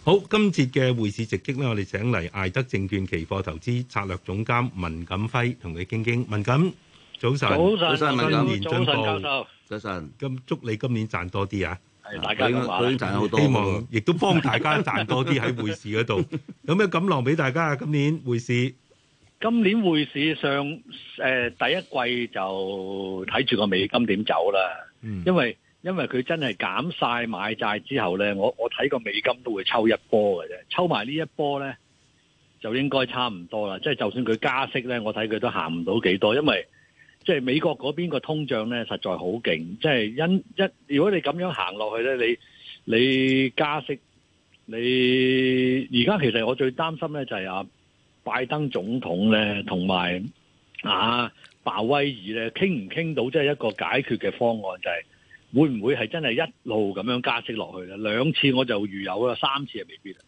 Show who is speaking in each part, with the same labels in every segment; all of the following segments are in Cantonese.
Speaker 1: 好，今節嘅匯市直擊咧，我哋請嚟艾德證券期貨投資策略總監文錦輝同佢傾傾。文錦，早晨，
Speaker 2: 早晨，
Speaker 1: 新年進步，
Speaker 2: 教授，
Speaker 3: 早晨。
Speaker 1: 咁祝你今年賺多啲啊！
Speaker 2: 係大家咁話，
Speaker 3: 佢賺好多，
Speaker 1: 希望亦都幫大家賺多啲喺匯市嗰度。有咩錦囊俾大家啊？今年匯市，
Speaker 2: 今年匯市上第一季就睇住個美金點走啦。因為佢真係減晒買債之後咧，我睇個美金都會抽一波嘅啫，抽埋呢一波咧就應該差唔多啦。即係就算佢加息咧，我睇佢都行唔到幾多，因為即係美國嗰邊個通脹咧實在好勁。即係如果你咁樣行落去咧，你加息，你而家其實我最擔心咧就係拜登總統咧同埋鮑威爾咧傾唔傾到即係一個解決嘅方案，就係會唔會係真係一路咁樣加息落去咧？兩次我就預有啦，三次係未必啦。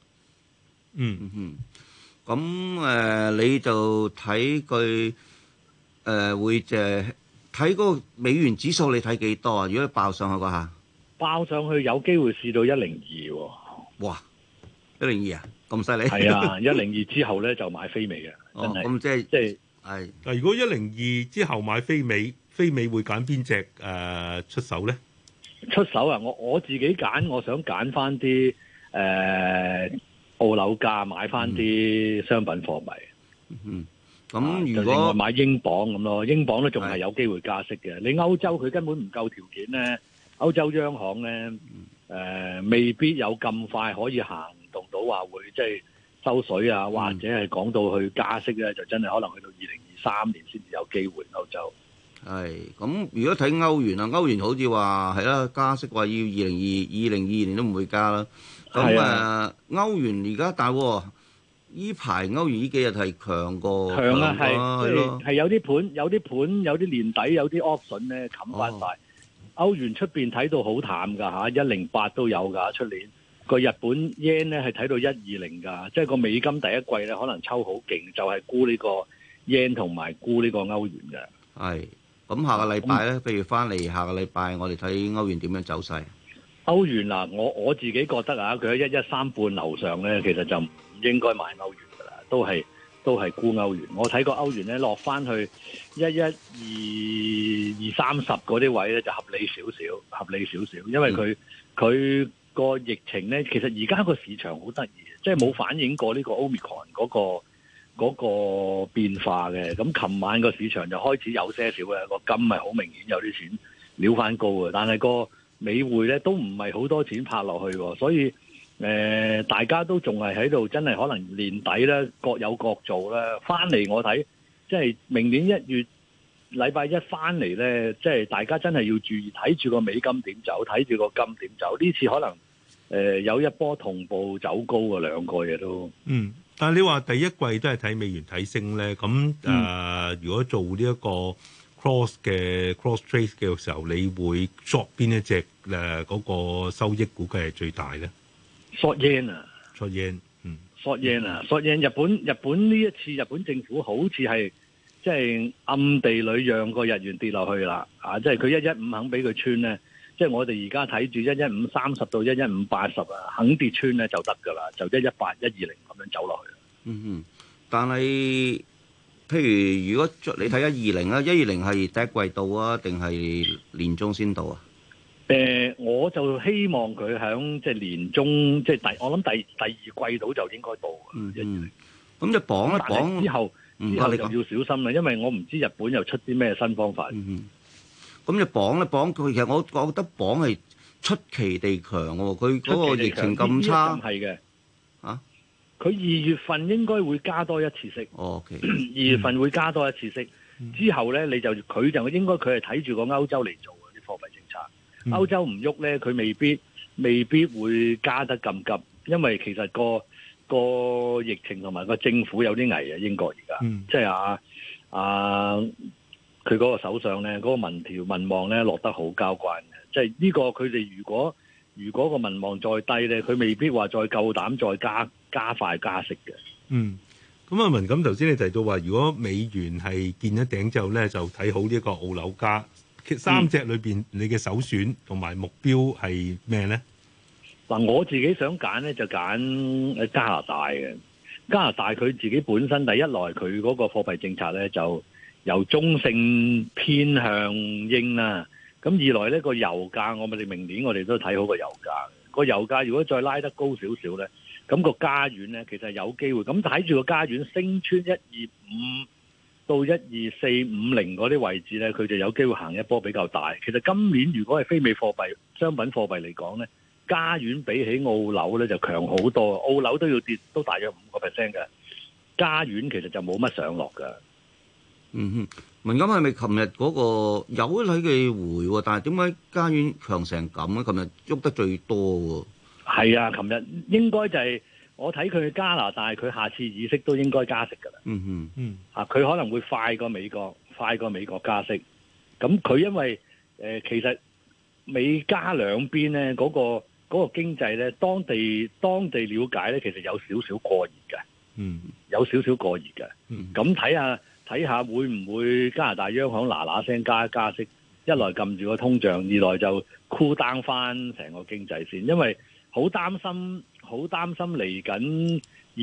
Speaker 3: 咁你就睇佢會睇嗰個美元指數，你睇幾多啊？如果爆上去嗰下，
Speaker 2: 爆上去有機會試到102喎。
Speaker 3: 哇！102啊，咁犀利？
Speaker 2: 係啊，102之後咧就買飛尾嘅，真係。
Speaker 3: 咁即係係。
Speaker 1: 但如果102之後買飛尾會揀邊隻出手咧？
Speaker 2: 出手啊！我自己揀，我想揀翻啲澳樓價，買翻啲商品貨幣。
Speaker 3: 咁如果
Speaker 2: 另外買英鎊咁咯，英鎊都仲係有機會加息嘅。你歐洲佢根本唔夠條件咧，歐洲央行咧未必有咁快可以行動到話會即係收水啊，或者係講到去加息咧，就真係可能去到2023年先至有機會歐洲。
Speaker 3: 係咁，如果睇歐元啊，歐元好似話係啦，加息話要2022年都唔會加啦。咁歐元而家大喎，依排歐元呢幾日係強過
Speaker 2: 強啊，係有啲盤，有啲年底有啲 option 咧冚翻晒。歐元出邊睇到好淡㗎108都有㗎，出年個日本 yen 咧係睇到120㗎，即係個美金第一季咧可能抽好勁，就係沽呢個 yen 同埋沽呢個歐元嘅。
Speaker 3: 係。咁下個禮拜咧，譬如翻嚟下個禮拜，我哋睇歐元點樣走勢？
Speaker 2: 歐元嗱，我自己覺得佢喺113半樓上咧，其實就唔應該買歐元噶啦，都係沽歐元。我睇個歐元咧落翻去11230嗰啲位咧就合理少少，因為佢個疫情咧，其實而家個市場好得意，即係冇反映過呢個 Omicron 嗰個變化嘅。咁琴晚個市場就開始有些少嘅，個金係好明顯有啲錢撩翻高嘅，但係個美匯咧都唔係好多錢拍落去，所以大家都仲係喺度，真係可能年底咧各有各做啦。翻嚟我睇，即係明年1月禮拜一翻嚟咧，即係大家真係要注意睇住個美金點走，睇住個金點走。呢次可能有一波同步走高嘅兩個嘢都。
Speaker 1: 但係你話第一季都係睇美元睇升咧，咁如果做呢一個 cross trade 嘅時候，你會 short 邊一隻嗰個收益估計係最大咧
Speaker 2: ？short yen 啊
Speaker 1: ，short
Speaker 2: yen，short yen 日本呢一次日本政府好似係即係暗地裏讓個日元跌落去啦，即係佢115肯俾佢穿咧，即係我哋而家睇住11530到11580啊，肯跌穿咧就得㗎啦，就118、120咁樣走落去。
Speaker 3: 但係譬如如果你睇120啊，120係第一季度啊，定係年中先到啊？
Speaker 2: 我就希望佢響即係年中，即係我諗第二季度就應該到嘅。
Speaker 3: 咁就綁一綁
Speaker 2: 之後就要小心啦，因為我唔知日本又出啲咩新方法。
Speaker 3: 咁就綁一綁佢，其實我覺得綁係出奇地強喎，佢嗰個疫情咁差。
Speaker 2: 係嘅。佢2月份應該會加多一次息。2月份會加多一次息，之後咧佢就應該佢係睇住個歐洲嚟做嘅啲貨幣政策。歐洲唔喐咧，佢未必會加得咁急，因為其實個疫情同埋個政府有啲危啊。英國而家即係佢嗰個首相咧，嗰個民望咧落得好交關嘅，即係呢個佢哋如果個民望再低咧，佢未必話再夠膽再加快加息嘅。
Speaker 1: 咁文錦頭先你提到話，如果美元係見一頂之後咧，就睇好呢一個澳紐加。三隻裏邊，你嘅首選同埋目標係咩咧？
Speaker 2: 嗱，我自己想揀咧就揀加拿大嘅。加拿大佢自己本身第一來佢嗰個貨幣政策咧就由中性偏向鷹啦。咁二來呢個油價，我哋明年我哋都睇好個油價。個油價如果再拉得高少少咧，咁個加元咧其實有機會。咁睇住個加元升穿125到12450嗰啲位置咧，佢就有機會行一波比較大。其實今年如果係非美貨幣、商品貨幣嚟講咧，加元比起澳紐咧就強好多，澳紐都要跌都大約5%嘅，加元其實就冇乜上落㗎。
Speaker 3: 嗯哼，文錦係咪琴日嗰個有睇佢回喎？但係點解加元強成咁咧？琴日喐得最多喎。係
Speaker 2: 啊，琴日應該就係我睇佢加拿大，佢下次議息都應該加息㗎啦。
Speaker 3: 嗯哼，
Speaker 2: 佢可能會快過美國加息。咁佢因為其實美加兩邊咧嗰個經濟咧，當地了解咧，其實有少少過熱嘅。有少少過熱嘅。咁睇下會唔會加拿大央行嗱聲加息，一來撳住個通脹，二來就cool down翻成個經濟先，因為好擔心嚟緊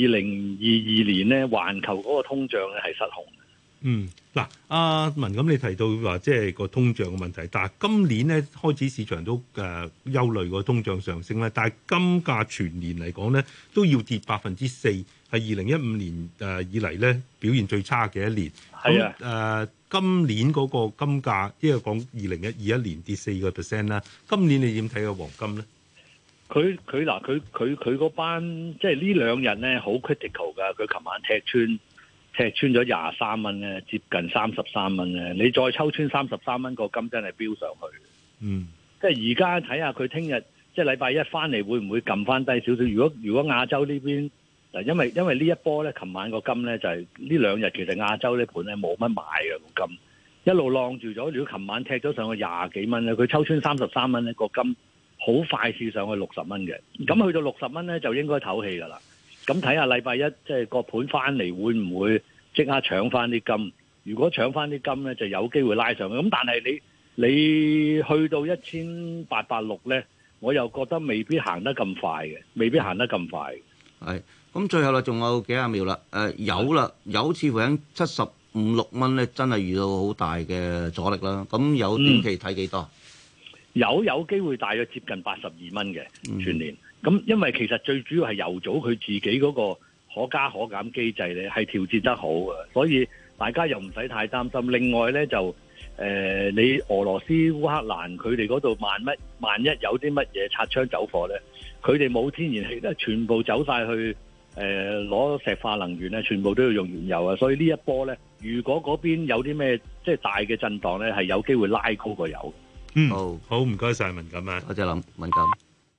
Speaker 2: 2022年咧，環球嗰個通脹咧係失控。
Speaker 1: 嗱，阿文咁你提到話即係個通脹嘅問題，但係今年咧開始市場都憂慮個通脹上升咧，但係金價全年嚟講咧都要跌4%，係2015年以嚟咧表現最差嘅一年。
Speaker 2: 係啊，
Speaker 1: 今年嗰個金價，因為講2021年跌4%啦，今年你點睇個黃金咧？
Speaker 2: 佢嗰班即係呢兩日咧好 critical 㗎，佢琴晚踢穿咗23蚊咧，接近33蚊咧。你再抽穿33蚊，個金真係飆上去。即係而家睇下佢聽日即係禮拜一翻嚟會唔會撳翻低少少？如果亞洲呢邊嗱，因為呢一波咧，琴晚個金咧就係呢兩日其實亞洲呢盤咧冇乜買嘅個金，一路晾住咗。如果琴晚踢咗上去20幾蚊咧，佢抽穿33蚊咧，個金好快試上去60蚊嘅。咁去到60蚊咧就應該唞氣㗎啦。咁睇下禮拜一即係個盤翻嚟會唔會即刻搶翻啲金？如果搶翻啲金咧，就有機會拉上去。咁但係你去到1860咧，我又覺得未必行得咁快嘅，係。
Speaker 3: 咁最後啦，仲有幾廿秒啦。有似乎喺75-76蚊咧，真係遇到好大嘅阻力啦。咁有短期睇幾多？
Speaker 2: 有機會大約接近82蚊嘅全年。咁因為其實最主要係油組佢自己嗰個可加可減機制咧係調節得好嘅，所以大家又唔使太擔心。另外咧就你俄羅斯烏克蘭佢哋嗰度萬一有啲乜嘢擦槍走火咧，佢哋冇天然氣咧，全部走晒去攞石化能源咧，全部都要用原油啊！所以呢一波咧，如果嗰邊有啲咩即係大嘅震盪咧，係有機會拉高個油。
Speaker 1: 好唔該晒文錦啊，
Speaker 3: 多謝文錦。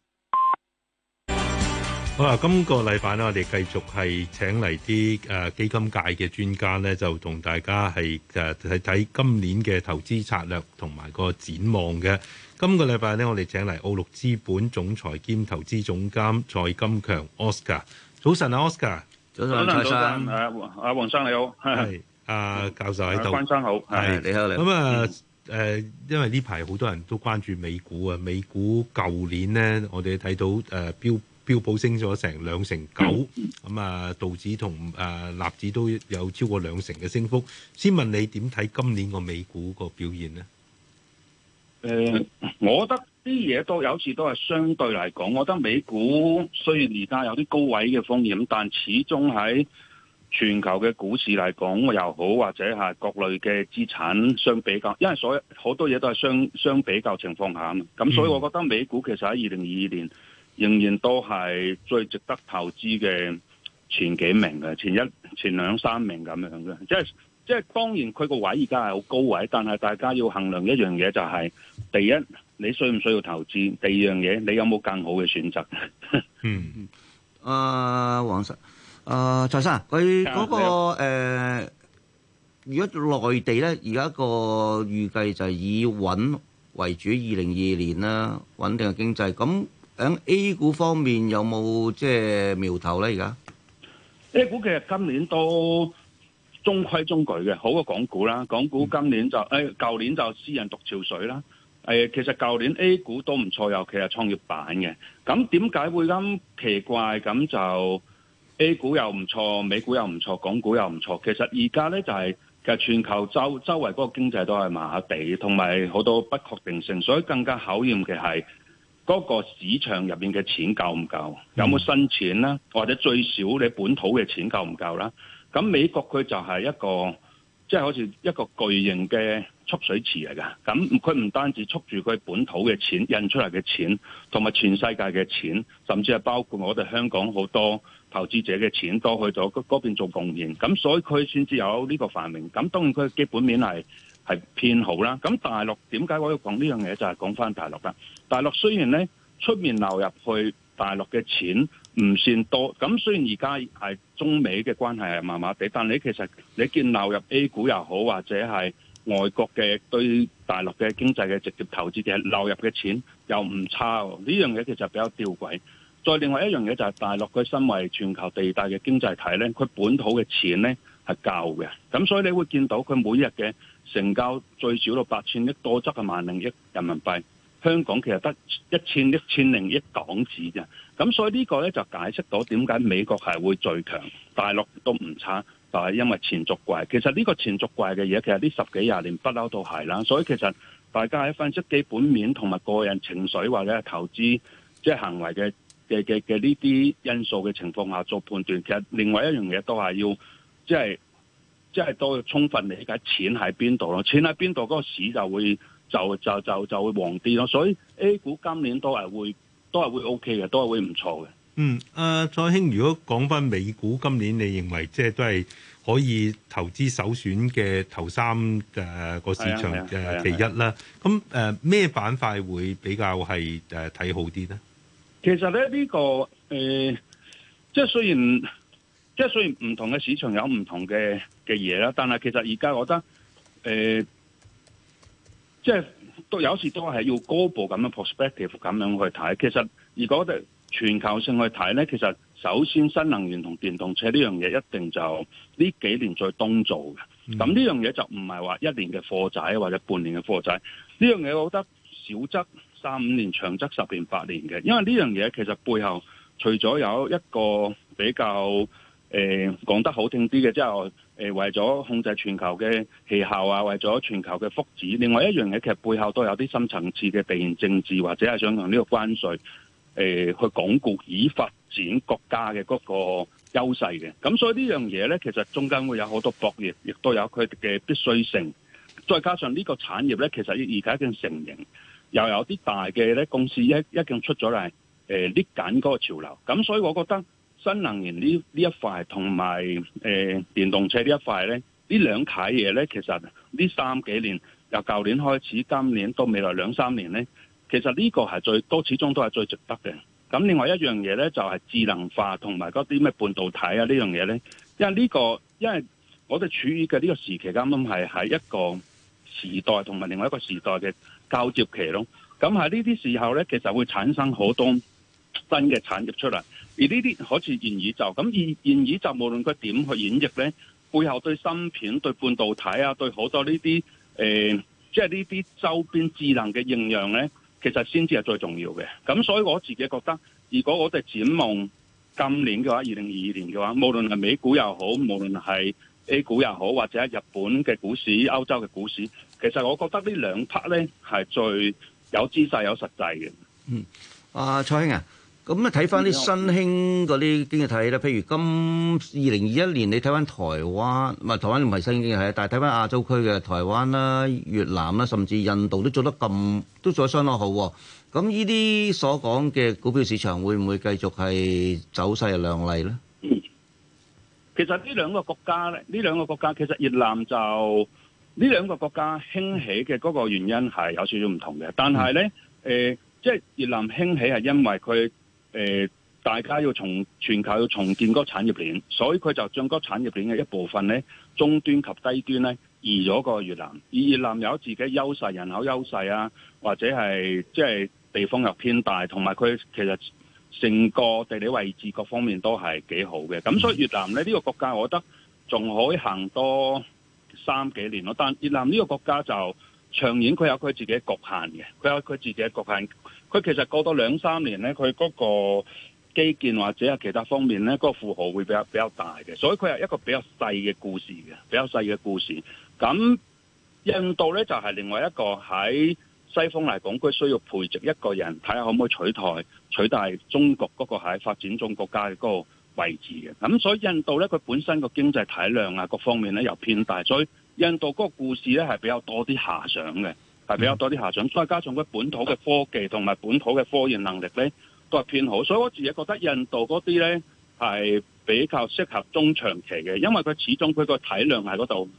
Speaker 1: 好啦，今個禮拜咧，我哋繼續係請嚟啲基金界嘅專家咧，就同大家係睇今年嘅投資策略同埋個展望嘅。今個禮拜咧，我哋請嚟澳陸資本總裁兼投資總監蔡金強 Oscar。早晨啊 ，Oscar。
Speaker 3: 早晨，蔡生。
Speaker 4: 黃生你好。
Speaker 1: 係。教授喺度。
Speaker 4: 關生好。
Speaker 3: 係你好。
Speaker 1: 咁啊。因為呢排好多人都關注美股啊，美股舊年呢，我哋睇到標普升咗成2.9%，咁啊道指同納指都有超過2成嘅升幅。先問你點睇今年個美股個表現呢？
Speaker 4: 我覺得啲嘢都有時都係相對嚟講，我覺得美股雖然而家有啲高位嘅風險，但始終喺全球嘅股市嚟講又好，或者係各類嘅資產相比較，因為所有好多嘢都係相比較情況下，咁所以我覺得美股其實喺2022年仍然都係最值得投資嘅前幾名嘅，前兩三名咁樣嘅，即係當然佢個位而家係好高位，但係大家要衡量一樣嘢就係，第一你需唔需要投資，第二樣嘢你有冇更好嘅選擇。
Speaker 3: 黃生。蔡生，佢嗰個如果內地咧，而家個預計就係以穩為主，2022年啦，穩定嘅經濟。咁喺 A 股方面有冇即係苗頭咧？而家
Speaker 4: A 股其實今年都中規中矩嘅，好過港股啦。港股今年就舊年就私人獨潮水啦。 其實舊年 A 股都唔錯，尤其係創業板嘅。咁點解會咁奇怪？咁就 A 股又唔錯，美股又唔錯，港股又唔錯。其實而家咧就係、其實全球周圍嗰個經濟都係麻麻地，同埋好多不確定性，所以更加考驗嘅係嗰個市場入面嘅錢夠唔夠，有冇新錢啦，或者最少你本土嘅錢夠唔夠啦。咁美國佢就係一個即係好似一個巨型嘅蓄水池嚟㗎。咁佢唔單止蓄住佢本土嘅錢印出嚟嘅錢，同埋全世界嘅錢，甚至係包括我哋香港好多投資者嘅錢都去咗嗰邊做貢獻。咁所以佢先至有呢個繁榮。咁當然佢嘅基本面係偏好啦。咁大陸點解我要講呢樣嘢？就係講翻大陸啦。大陸雖然咧出面流入去大陸嘅錢唔算多，咁雖然而家係中美嘅關係係麻麻地，但你其實你見流入 A 股又好，或者係外國嘅對大陸嘅經濟嘅直接投資嘅流入嘅錢又唔差喎。呢樣嘢其實比較吊詭。再另外一樣嘢就係大陸佢身為全球第二大嘅經濟體咧，佢本土嘅錢咧係夠嘅，咁所以你會見到佢每日嘅成交最少到8000億，多則係10000億人民幣。香港其實得1000億、1000億港紙啫，咁所以呢個咧就解釋到點解美國係會最強，大陸都唔差，就係因為錢足貴。其實呢個錢足貴嘅嘢，其實呢10幾20年不嬲都係啦。所以其實大家喺分析基本面同埋個人情緒或者係投資即係行為嘅呢啲因素嘅情況下做判斷，其實另外一樣嘢都係要即係都要充分理解錢喺邊度咯，錢喺邊度嗰個市就會。就會旺啲咯，所以 A 股今年都係會 OK 嘅，都係會唔錯嘅。
Speaker 1: 蔡興，如果講翻美股今年，你認為即係都係可以投資首選嘅頭3個市場其一啦。咁咩板塊會比較係睇好啲呢？
Speaker 4: 其實咧呢個即係雖然唔同嘅市場有唔同嘅嘢啦，但係其實而家我覺得即係都有時都係要高步咁樣 perspective 咁樣去睇。其實如果我哋全球性去睇咧，其實首先新能源同電動車呢樣嘢一定就呢幾年最東做嘅。咁呢樣嘢就唔係話1年嘅貨仔或者半年嘅貨仔。呢樣嘢我覺得少則3-5年，長則10年8年嘅。因為呢樣嘢其實背後除咗有一個比較講得好聽啲嘅，即係為咗控制全球嘅氣候啊，為咗全球嘅福祉。另外一樣嘢其實背後都有啲深層次嘅地緣政治，或者係想用呢個關稅去鞏固以發展國家嘅嗰個優勢嘅。咁所以呢樣嘢咧，其實中間會有好多博弈，亦都有佢嘅必須性。再加上呢個產業咧，其實而家已經成型，又有啲大嘅咧公司一經出咗嚟搣緊嗰個潮流。咁所以我覺得新能源呢一塊同埋電動車呢一塊咧，呢兩塊嘢咧，其實呢3幾年由舊年開始，今年到未來2-3年咧，其實呢個係始終都係最值得嘅。咁另外一樣嘢咧，就係智能化同埋嗰啲咩半導體啊呢樣嘢咧，因為我哋處於嘅呢個時期啱啱係喺一個時代同埋另外一個時代嘅交接期咯。咁喺呢啲時候咧，其實會產生好多新嘅產業出嚟。而呢啲好似元宇宙咁，元宇宙無論佢點去演繹咧，背後對芯片、對半導體啊、對好多呢啲即係呢啲周邊智能嘅應用咧，其實先至係最重要嘅。咁所以我自己覺得，如果我哋展望今年嘅話，2022年嘅話，無論係美股又好，無論係 A 股又好，或者係日本嘅股市、歐洲嘅股市，其實我覺得呢兩 part 咧係最有姿勢、有實際嘅。
Speaker 3: 蔡興啊。咁咧睇翻啲新興嗰啲經濟體咧，譬如2021年你睇翻台灣，台灣唔係新興經濟體，但係睇翻亞洲區嘅台灣啦、越南啦，甚至印度都做得相當好。咁呢啲所講嘅股票市場會唔會繼續係走勢係亮麗咧？
Speaker 4: 其實呢兩個國家其實越南就呢兩個國家興起嘅嗰個原因係有少少唔同嘅，但係咧即係越南興起係因為佢大家要全球要重建嗰個產業鏈，所以佢就將嗰個產業鏈嘅一部分咧，中端及低端咧移咗過越南。而越南有自己優勢，人口優勢啊，或者係即係地方又偏大，同埋佢其實成個地理位置各方面都係幾好嘅。咁所以越南咧呢個國家，我覺得仲可以行多3幾年咯。但越南呢個國家就長遠佢有佢自己嘅局限嘅，佢有佢自己嘅局限。佢其實過多2-3年咧，佢嗰個基建或者係其他方面咧，嗰個負荷會比較大嘅，所以佢係一個比較細嘅故事嘅，比較細嘅故事。咁印度咧就係另外一個喺西方嚟講，佢需要培植一個人，睇下可唔可以取代中國嗰個喺發展中國家嘅嗰個位置嘅。咁所以印度咧，佢本身個經濟體量啊，各方面咧又偏大，所以印度嗰個故事咧係比較多啲遐想嘅，係比較多啲遐想。再加上佢本土嘅科技同埋本土嘅科研能力咧都係偏好，所以我自己覺得印度嗰啲咧係比較適合中長期嘅，因為佢始終佢個體量喺嗰度。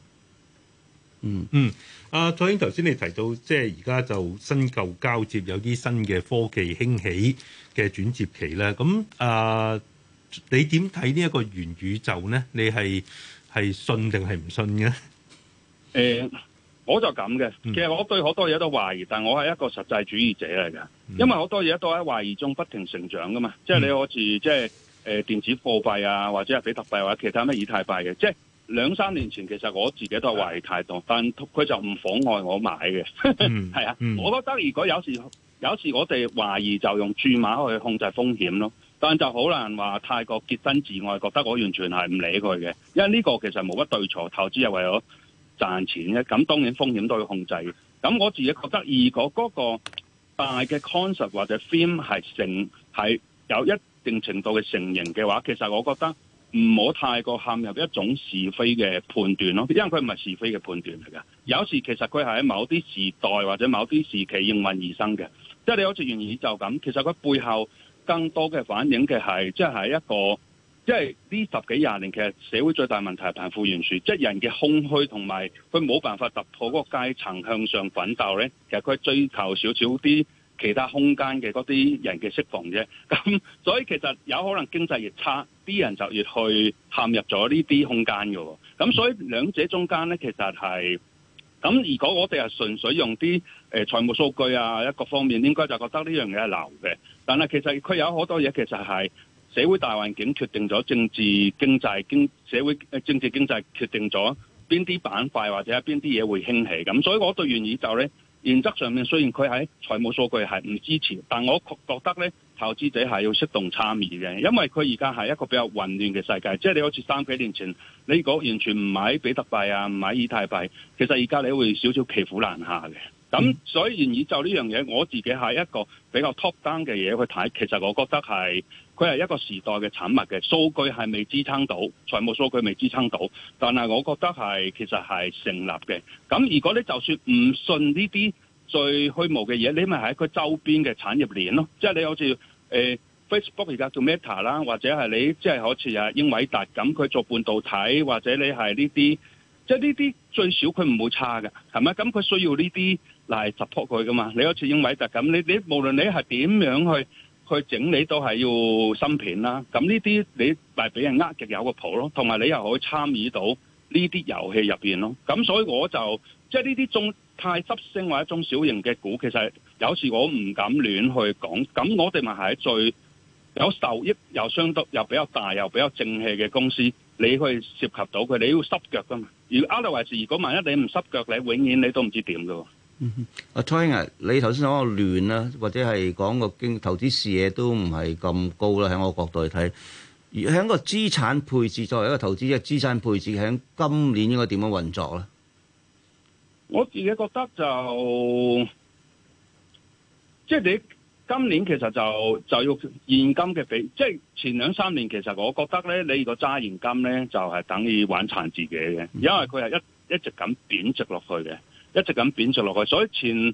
Speaker 1: 蔡英頭先你提到，即係而家就新舊交接，有啲新嘅科技興起嘅轉接期咧。咁你點睇呢一個元宇宙呢？你係信定係唔信嘅？
Speaker 4: 我就咁嘅。其實我對好多嘢都懷疑，但我係一個實際主義者嚟㗎。因為好多嘢都喺懷疑中不停成長㗎嘛。即係你好似即係電子貨幣啊，或者係比特幣或者其他咩以太幣嘅，即係2-3年前其實我自己都係懷疑太多，但佢就唔妨礙我買嘅。係啊，我覺得如果有時我哋懷疑就用注碼去控制風險咯，但就好難話太過潔身自愛，覺得我完全係唔理佢嘅，因為呢個其實冇乜對錯，投資係為咗賺錢嘅，咁當然風險都要控制。咁我自己覺得，如果嗰個大嘅 concept 或者 theme 係有一定程度嘅成型嘅話，其實我覺得唔好太過陷入一種是非嘅判斷咯，因為佢唔係是非嘅判斷嚟㗎。有時其實佢係喺某啲時代或者某啲時期應運而生嘅，即係你好似元宇宙咁，其實佢背後更多嘅反映嘅係即係一個，即係呢10幾20年其實社會最大問題係貧富懸殊，即係人嘅空虛同埋佢冇辦法突破嗰個階層向上奮鬥咧，其實佢追求少少啲其他空間嘅嗰啲人嘅釋放啫。咁所以其實有可能經濟越差，啲人就越去陷入咗呢啲空間嘅。咁所以兩者中間咧，其實係咁。如果我哋係純粹用啲財務數據啊一個方面，應該就覺得呢樣嘢係流嘅。但係其實佢有好多嘢其實係社會大環境決定咗政治經濟社會政治經濟決定咗邊啲板塊或者係邊啲嘢會興起。咁所以我對元宇宙咧，原則上面雖然佢喺財務數據係唔支持，但我覺得咧，投資者係要適度參與嘅，因為佢而家係一個比較混亂嘅世界。即係你好似3幾年前，你如果完全唔買比特幣啊，唔買以太幣，其實而家你會少少騎虎難下嘅。咁所以元宇宙呢樣嘢，我自己係一個比較 top down 嘅嘢去睇。其實我覺得係佢係一個時代嘅產物嘅，數據係未支撐到，財務數據未支撐到，但係我覺得係其實係成立嘅。咁如果你就算唔信呢啲最虛無嘅嘢，你咪喺佢周邊嘅產業鏈咯。即係你好似Facebook 而家做 Meta 啦，或者係你即係好似啊英偉達咁，佢做半導體，或者你係呢啲，即係呢啲最少佢唔會差嘅，係咪？咁佢需要呢啲嚟 support 佢噶嘛？你好似英偉達咁，你無論你係點樣去整理都係要芯片啦。咁呢啲你咪俾人呃極有個譜咯，同埋你又可以參與到呢啲遊戲入邊咯。咁所以我就即係呢啲中太執升或者中小型嘅股，其實有時我唔敢亂去講。咁我哋咪係最有受益又相對又比較大又比較正氣嘅公司，你去涉及到佢，你要濕腳噶嘛。如果 otherwise，如果萬一你唔濕腳，你永遠你都唔知點噶。
Speaker 3: 蔡英啊，你頭先講個亂啦，或者係講個投資視野都唔係咁高啦。喺我角度去睇，而喺個資產配置作為一個投資者，資產配置喺今年應該點樣運作咧？
Speaker 4: 我自己覺得就即係你今年其實就要現金嘅比，即係前2-3年其實我覺得咧，你如果揸現金咧，就係等於玩殘自己嘅，因為佢係一直咁貶值落去嘅，一直咁貶值落去。所以前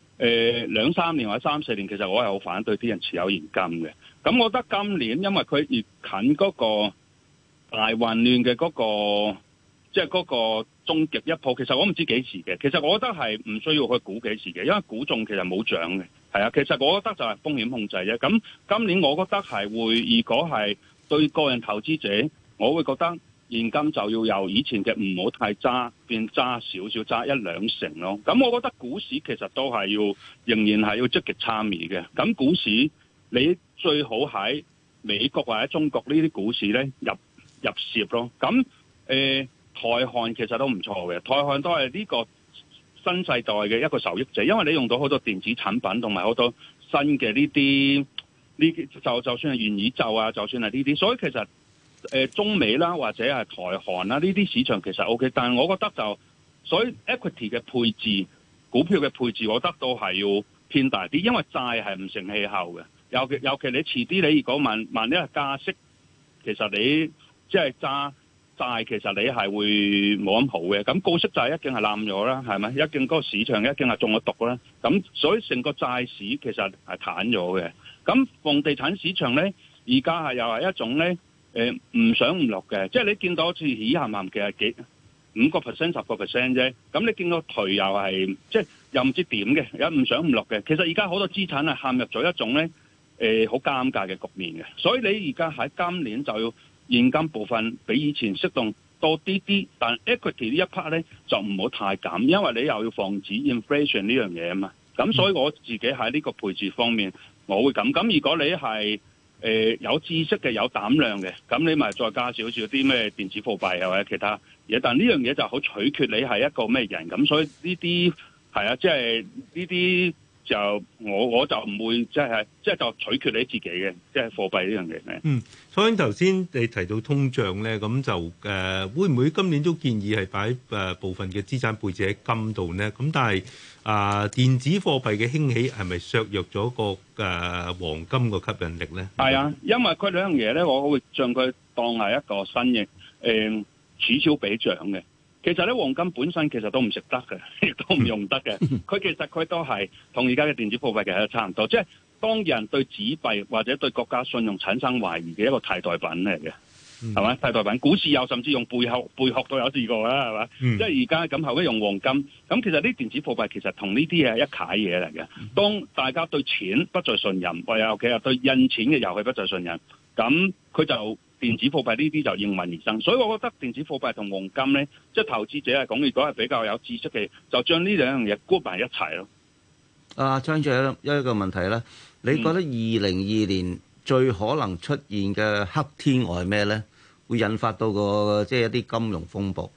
Speaker 4: 2-3年或者3-4年，其實我係好反對啲人持有現金嘅。咁我覺得今年因為佢越近嗰個大混亂嘅嗰個，即係嗰個終極一鋪，其實我唔知幾時嘅。其實我覺得係唔需要去估幾時嘅，因為估中其實冇獎嘅。係啊，其實我覺得就係風險控制啫。咁今年我覺得係會，如果係對個人投資者，我會覺得現金就要由以前嘅唔好太揸，變揸少少，揸1-2成咯。咁我覺得股市其實都係仍然係要積極參與嘅。咁股市你最好喺美國或者中國呢啲股市咧入攝咯。咁台韓其實都唔錯嘅，台韓都係呢個新世代嘅一個受益者，因為你用到好多電子產品同埋好多新嘅就算係元宇宙啊，就算係呢啲，所以其實中美啦或者係台韓啦呢啲市場其實 OK， 但係我覺得所以 equity 嘅配置、股票嘅配置，我覺得都係要偏大啲，因為債係唔成氣候嘅，尤其你遲啲你如果萬一係加息，其實你即係揸債，其實你係會冇咁好嘅。咁高息債一定係冧咗啦，係咪？一定嗰個市場一定係中咗毒啦。咁所以成個債市其實係攤咗嘅。咁房地產市場咧，而家係又係一種咧唔上唔落嘅，即係你見到好似起冚冚嘅5% 10% 啫。咁你見到頹又係即係又唔知點嘅，有唔上唔落嘅。其實而家好多資產係陷入咗一種咧好尷尬嘅局面嘅。所以你而家喺今年就要現金部分比以前適當多啲，但 equity 呢一 part 咧就唔好太減，因為你又要防止 inflation 呢樣嘢啊嘛。咁所以我自己喺呢個配置方面，我會咁。咁如果你係有知識嘅、有膽量嘅，咁你咪再加少少啲咩電子貨幣或者其他嘢。但呢樣嘢就好取決你係一個咩人。咁所以呢啲係啊，即係呢啲就我就唔會即係就取決你自己嘅，即係貨幣呢樣嘢。
Speaker 1: 所以頭先你提到通脹咧，咁就會唔會今年都建議係擺部分嘅資產配置喺金度呢？咁但係電子貨幣嘅興起係咪削弱咗個黃金個吸引力咧？
Speaker 4: 係啊，因為佢兩樣嘢咧，我會將佢當係一個新型此消彼長嘅。其實咧，黃金本身其實都唔食得嘅，亦都唔用得嘅。佢其實佢都係同而家嘅電子貨幣其實差唔多，即係當人對紙幣或者對國家信用產生懷疑嘅一個替代品嚟嘅，係咪？替代品，股市有甚至用貝殼都有試過啦，係嘛？即係而家咁後尾用黃金，咁其實啲電子貨幣其實同呢啲係一楷嘢嚟嘅。當大家對錢不再信任，或尤其係對印錢嘅遊戲不再信任，咁佢就電子貨幣呢啲就應運而生。所以我覺得電子貨幣同黃金咧，即係投資者嚟講，如果係比較有知識嘅，就將呢兩樣嘢 group 埋一齊咯。
Speaker 3: 張最後一個問題咧，你覺得2022年最可能出現嘅黑天鵝係咩咧？會引發到即係一啲金融風暴？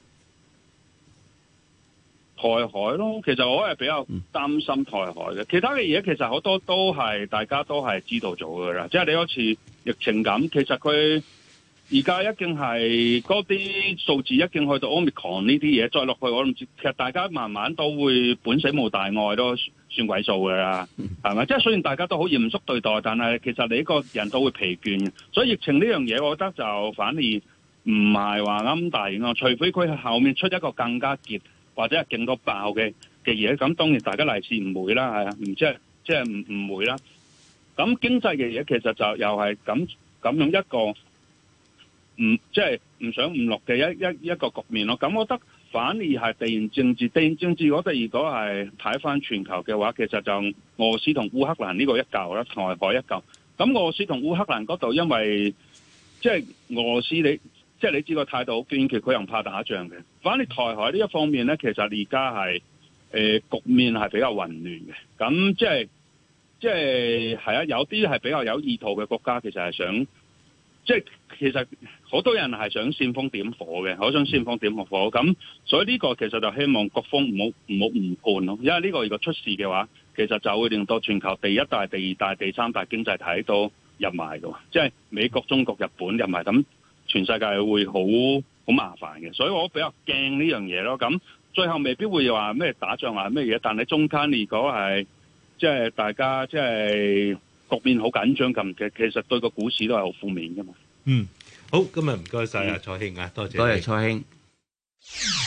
Speaker 4: 台海咯，其實我係比較擔心台海嘅。其他嘅嘢其實好多都係大家都係知道咗㗎啦。即係你好似疫情咁，其實佢而家一定係嗰啲數字一定去到 Omicron 呢啲嘢，再落去我唔知。其實大家慢慢都會本死無大礙，都算鬼數㗎啦，係咪？即係雖然大家都好嚴肅對待，但係其實你個人都會疲倦。所以疫情呢樣嘢，我覺得就反而唔係話咁大影響，除非佢後面出一個更加結或者係勁到爆嘅嘢。咁當然大家利是唔會啦，係啊，即係唔會啦。咁經濟嘅嘢其實就又係咁樣一個即係唔上唔落嘅一個局面咯。咁我覺得反而係地緣政治，我哋如果係睇翻全球嘅話，其實就俄羅斯同烏克蘭呢個一嚿啦，台海一嚿。咁俄羅斯同烏克蘭嗰度，因為即係俄羅斯你知個態度好堅決，佢又唔怕打仗嘅。反而台海呢一方面咧，其實而家係局面係比較混亂嘅。咁即係係啊，有啲係比較有意圖嘅國家，其實係想。即係其實好多人係想煽風點火嘅，好想煽風點火咁，所以呢個其實就希望各方唔好誤判咯。因為呢個如果出事嘅話，其實就會令到全球第一大、第二大、第三大經濟體都入埋嘅，即係美國、中國、日本入埋，咁全世界會好麻煩嘅。所以我比較驚呢樣嘢咯。咁最後未必會話咩打仗啊咩嘢，但係中間如果係即係大家即係。局面好緊張咁嘅，其實對個股市都係好負面㗎嘛。
Speaker 1: 好，今日唔該晒啊，蔡興啊，多謝。
Speaker 3: 多謝蔡興。